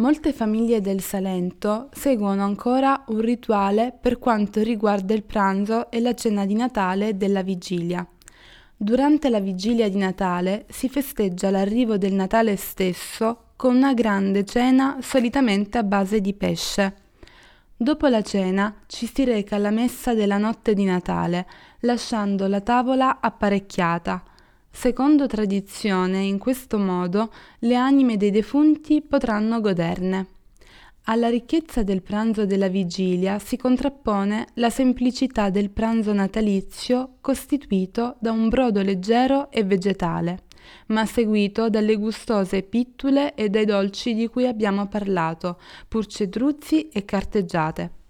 Molte famiglie del Salento seguono ancora un rituale per quanto riguarda il pranzo e la cena di Natale e della vigilia. Durante la vigilia di Natale si festeggia l'arrivo del Natale stesso con una grande cena solitamente a base di pesce. Dopo la cena ci si reca alla messa della notte di Natale, lasciando la tavola apparecchiata. Secondo tradizione, in questo modo le anime dei defunti potranno goderne. Alla ricchezza del pranzo della vigilia si contrappone la semplicità del pranzo natalizio costituito da un brodo leggero e vegetale, ma seguito dalle gustose pittule e dai dolci di cui abbiamo parlato, purcetruzzi e carteggiate.